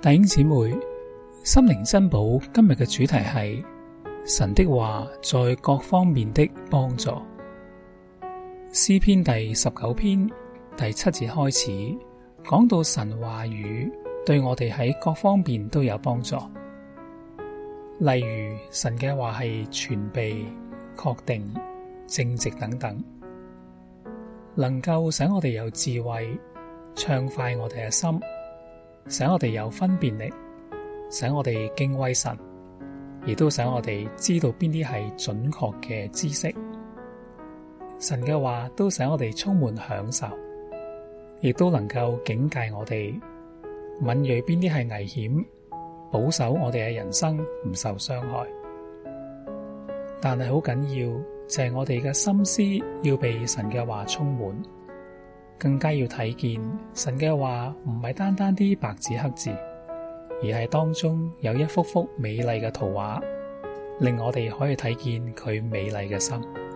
弟兄姊妹，心靈珍寶今日嘅主題係神的話在各方面的幫助。詩篇第19篇第7節開始，講到神話語對我哋喺各方面都有幫助。例如神嘅話係全備、確定、正直等等，能夠使我哋有智慧，暢快我哋嘅心，使我哋有分辨力，使我哋敬畏神，亦都使我哋知道邊啲係準確嘅知識。神嘅話都使我哋充滿享受，亦都能夠警戒我哋，敏銳邊啲係危險，保守我哋嘅人生唔受傷害。但係好緊要就係我哋嘅心思要被神嘅話充滿，更加要睇見神嘅話唔係單單啲白紙黑字，而係當中有一幅幅美麗嘅圖畫，令我哋可以睇見佢美麗嘅心。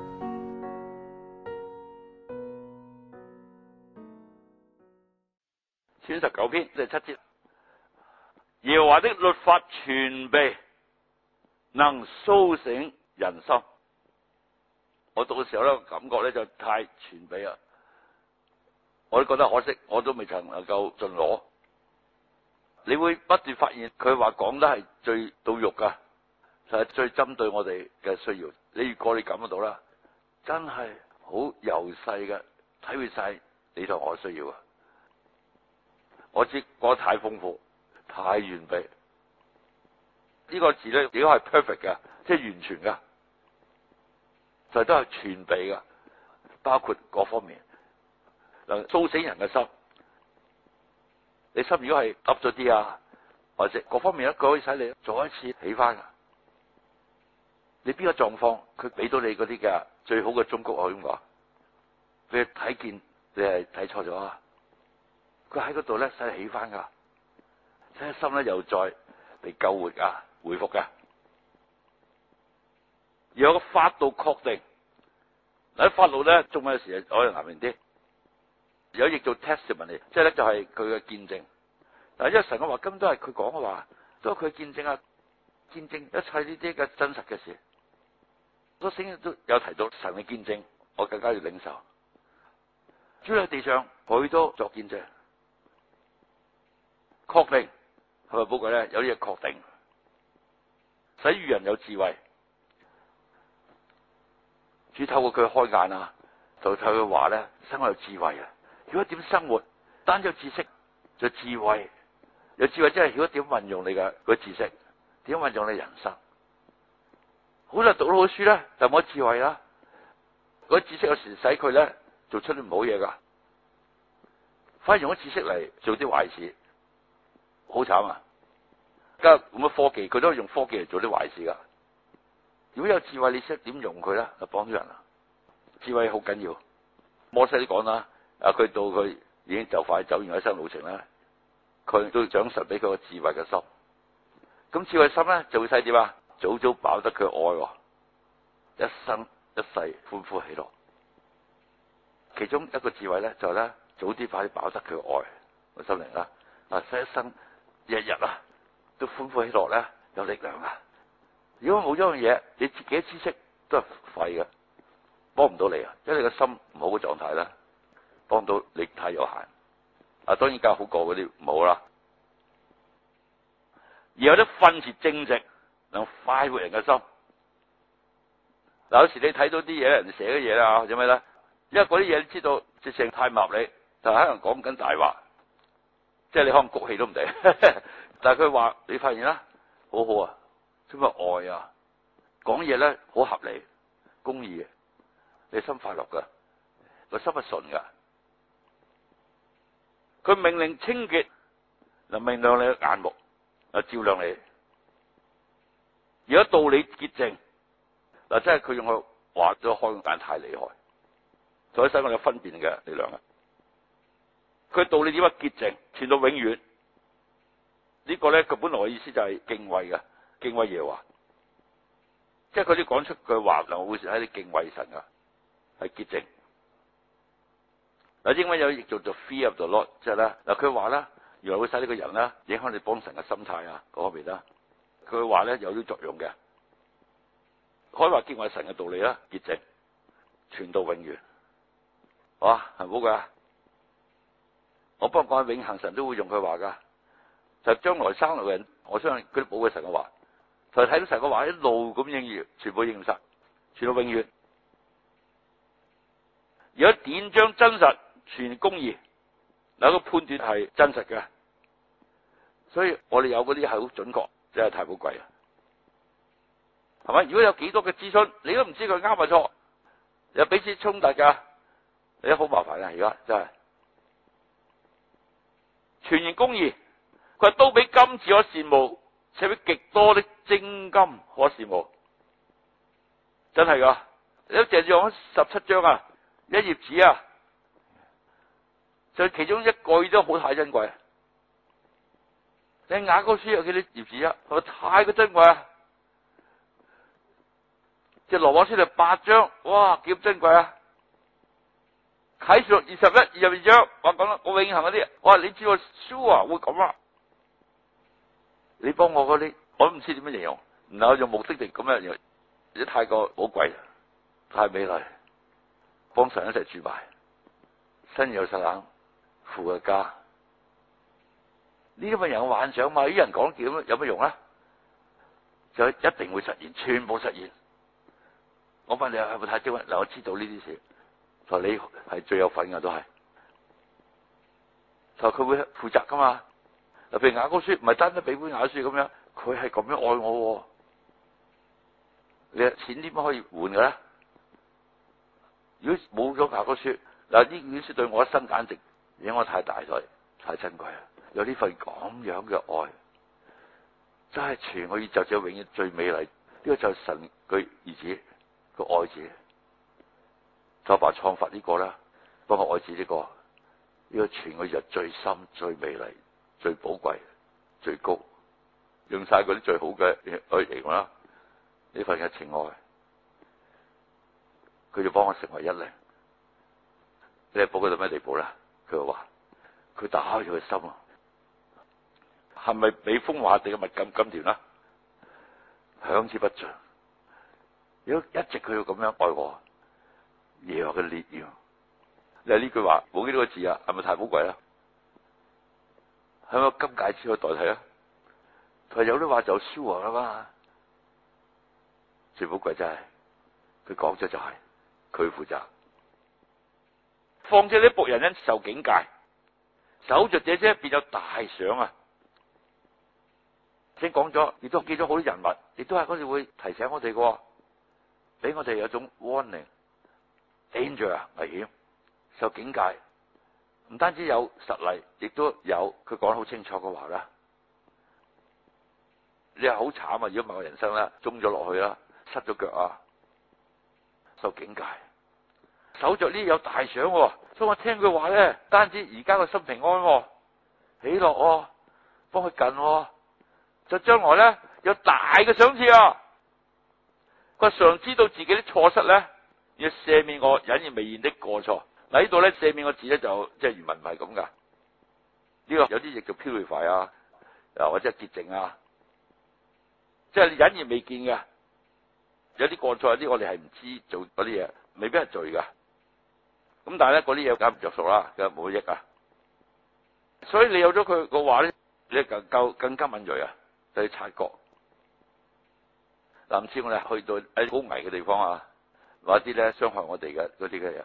詩19篇第7節，耶和華的律法全備，能蘇醒人心。我讀嘅時候咧，感覺咧就太全備啦，我都覺得可惜，我都未曾能夠盡攞。你會不斷發現佢話講得係最到肉噶，就係最針對我哋嘅需要。你如果你感覺到啦，真係好由細嘅體會晒你同我需要啊！我知講得太豐富、太完備。呢個字咧，如果係 perfect 嘅，即係完全噶，就都係全備噶，包括各方面，能蘇醒人嘅心。你心如果係凹咗啲啊，或者各方面佢可以使你再一次起翻噶。你邊個狀況，佢俾到你嗰啲嘅最好嘅忠告，我咁講，俾佢睇見你係睇錯咗啊！佢喺嗰度咧，使你起翻噶，使你心咧又再被救活噶，回復噶。而有個法度確定，嗱，法度咧，中文有時可能難明啲。有譯做 testimony， 即係咧就係佢嘅見證。嗱，因為神嘅話根本都係佢講嘅話，都係佢見證啊，見證一切呢啲嘅真實嘅事。都聖經都有提到神嘅見證，我更加要領受。主喺地上，佢都作見證，確定係咪寶貴咧？有啲嘢確定，使愚人有智慧。主透過佢開眼啊，就透過佢話咧，使我有智慧啊！如果點生活，單有知識就智慧，有智慧即係如果點運用你嘅嗰知識，點運用你人生。好多人讀到好書咧，就冇智慧啦。嗰知識有時使佢咧做出啲唔好嘢噶，反而用咗知識嚟做啲壞事，好慘啊！而家咁嘅科技，佢都係用科技嚟做啲壞事噶。如果有智慧，你識點用佢咧，就幫咗人啦。智慧好緊要。摩西都講啦。佢到佢已經就快走完一生路程啦，佢都獎神俾佢個智慧嘅心。咁智慧心咧就會使點啊？早早飽得佢愛，一生一世歡呼喜樂。其中一個智慧咧就係咧早啲快啲飽得佢愛個心靈啦。使一生日日啊都歡呼喜樂咧，有力量啊！如果冇咗樣嘢，你自己嘅知識都係廢嘅，幫唔到你啊！因為你個心唔好嘅狀態啦。幫到你太有限，當然較好過嗰啲唔好啦。而有啲訓詞正直，能快活人嘅心。嗱，有時你睇到啲嘢，人哋寫嘅嘢啦，或者咩咧？因為嗰啲嘢你知道，直情太唔合理，就可能講緊大話，即係你可能谷氣都唔定。但係佢話你發現啦，好好啊，充滿愛啊，講嘢咧好合理、公義嘅，你心快樂噶，個心係順噶。佢命令清潔，能明亮你嘅眼目，照亮你。如果道理潔淨，嗱，真係佢用個話咗開眼太厲害，所以使我哋有分辨嘅力量啊！佢道理點解潔淨，傳到永遠？呢個咧，佢本來嘅意思就係敬畏嘅，敬畏耶和華，即係佢啲講出句話，能會使你敬畏神噶，係潔淨。嗱，英文有譯做 fear of the Lord，即係咧，嗱，佢話咧， 原來會使呢個人咧影響你幫神嘅心態啊嗰方面啦。佢話咧有啲作用嘅，可以話經過神嘅道理啦，潔淨傳到永遠，哇係好噶。我幫講永恆，神都會用佢話噶，就將來生來嘅人，我相信佢都寶貴神嘅話，就睇到神嘅話一路咁應驗，全部應驗晒，傳到永遠。如果典章真實，全公義，嗱個判斷係真實嘅，所以我哋有嗰啲係好準確，真係太寶貴啦，係咪？如果有幾多嘅諮詢，你都唔知佢啱或錯，又彼此衝突噶，你都好麻煩啊！而家真係全然公義，佢話都比金子可羨慕，且比極多的精金可羨慕，真係噶！你都淨係用17章啊，一頁紙啊，就其中一句都好太珍貴。你雅歌書有幾多頁紙啊？係咪太過珍貴啊？即係羅馬書就8章，哇，幾咁珍貴啊！啟示錄21、22章，我講啦，我永恆嗰啲，哇，你知我 sure 會咁啊？你幫我嗰啲，我都唔知點樣形容，然後用目的地咁樣形容，啲太過寶貴，太美麗，幫神一齊住埋，新耶路撒冷父嘅家。呢啲咪人嘅幻想嘛？啲人講叫有乜用啊？就一定會實現，全部實現。我問你係咪太精？嗱，我知道呢啲事，就你係最有份嘅都係，就佢會負責噶嘛。嗱，譬如雅歌書唔係單單俾本雅書咁樣，佢係咁樣愛我。你錢點樣可以換嘅咧？如果冇咗雅歌書，嗱呢本書對我一生簡直影響我太大咗，太珍貴啦。有呢份咁樣嘅愛，真係全個宇宙只有永遠最美麗。呢個就係神佢兒子個愛子，就把創發呢個啦，幫我愛子呢個，呢個全個宇宙最深、最美麗、最寶貴、最高，用晒嗰啲最好嘅愛形容啦。呢份嘅情愛，佢就幫我成為一靈。你係寶貴到咩地步咧？佢話佢打開佢嘅心啊！係咪比風華地嘅蜜甘甘甜啦？響之不盡。如果一直佢要咁樣愛我，耶和華嘅烈焰。你話呢句話冇幾多個字啊？係咪太寶貴啦？係咪金戒指去代替啊？佢有啲話就 sure 啦嘛。最寶貴真係佢講咗就係佢負責。況且啲僕人因受警戒，守着這些便有大賞啊！先講咗，亦都記咗好多人物，亦都係嗰時會提醒我哋嘅，俾我哋有種 warning、danger 啊，危險，受警戒。唔單止有實例，亦都有佢講得好清楚嘅話啦。你係好慘啊！如果唔係我人生啦，中咗落去啦，失咗腳啊，受警戒，守着呢有大賞，所以我聽佢話咧，單止而家個心平安，喜樂，幫佢近。就將來咧有大嘅賞賜啊！佢常知道自己啲錯失咧，要赦免我隱而未現的過錯。嗱，呢度咧赦免個字咧就即係原文唔係咁噶。呢個有啲亦叫 purify 啊，或者係潔淨啊，即係你隱而未見嘅。有啲過錯，有啲我哋係唔知做嗰啲嘢，未必係罪噶。咁但係咧嗰啲嘢梗唔着數啦，梗係冇益啊。所以你有咗佢個話咧，你更加敏銳啊！去察覺，嗱，唔知我哋去到喺好危嘅地方啊，或者啲咧傷害我哋嘅嗰啲嘅嘢，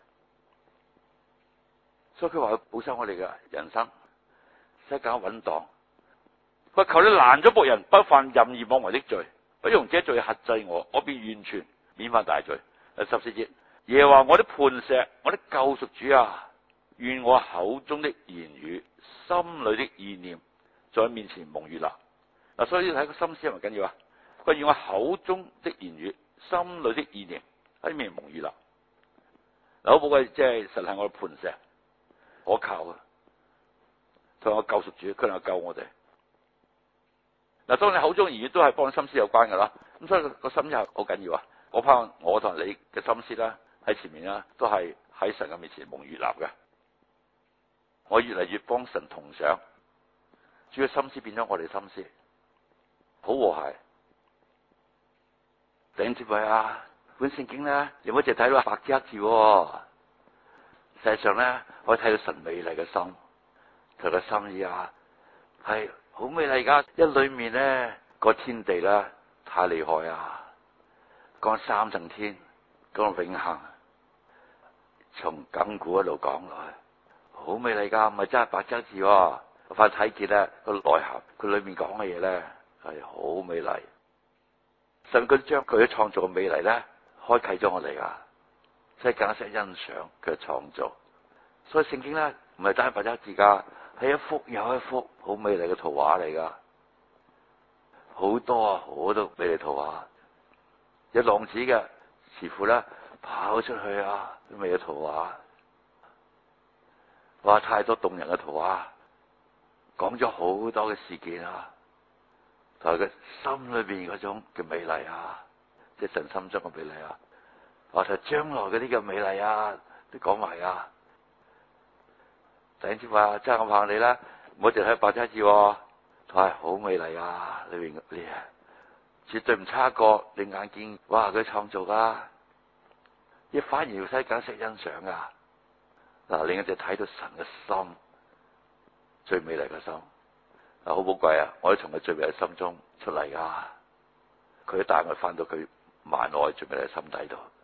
所以佢話保守我哋嘅人生，使更穩當。佢求你攔咗僕人，不犯任意妄為的罪，不容這罪轄制我，我便完全免犯大罪。14節，耶和華我的磐石，我的救贖主啊，願我口中的言語，心裏的意念，在面前蒙悅納。嗱，所以睇個心思係咪緊要啊？佢願我口中的言語，心裏的意念喺面蒙悅納。嗱，好寶貴，即係神係我嘅磐石，可靠啊！同我救贖主，佢能夠救我哋。嗱，當你口中言語都係幫心思有關噶啦，咁所以個心思係好緊要啊！我盼望我同你嘅心思啦，喺前面啦，都係喺神嘅面前蒙悅納嘅。我越嚟越幫神同想， 主嘅心思變咗我哋心思，好和諧。弟兄姊妹啊，本聖經咧，你唔好淨睇到白紙黑字，實際上咧，可以睇到神美麗嘅心，佢嘅心意啊，係好美麗噶。一裏面咧個天地咧太厲害啊，講三層天，講到永恆，從亙古一路講落去，好美麗噶，唔係真係白紙黑字，我快睇見咧個內涵，佢裏面講嘅嘢咧係好美麗。神佢將佢嘅創造嘅美麗咧，開啟咗我哋噶，即係更加識欣賞佢嘅創造。所以聖經咧唔係單係白紙黑字噶，係一幅又一幅好美麗嘅圖畫嚟噶，好多好多美麗圖畫。有浪子嘅慈父咧跑出去啊，啲美麗圖畫，哇！太多動人嘅圖畫，講咗好多嘅事件啊。同埋佢心裏邊嗰種嘅美麗啊，即係神心中嘅美麗啊，或者將來嗰啲嘅美麗啊，都講埋啊。弟兄姊妹啊，真係我盼你啦，唔好淨係白紙黑字，係好美麗啊！裏邊啲啊，絕對唔差過你眼見，哇！佢創造噶，亦反而要使更識欣賞噶。嗱，另一隻睇到神嘅心，最美麗嘅心。好寶貴啊！我哋從佢最美嘅心中出嚟噶，佢帶我翻到佢萬愛最美嘅心底度。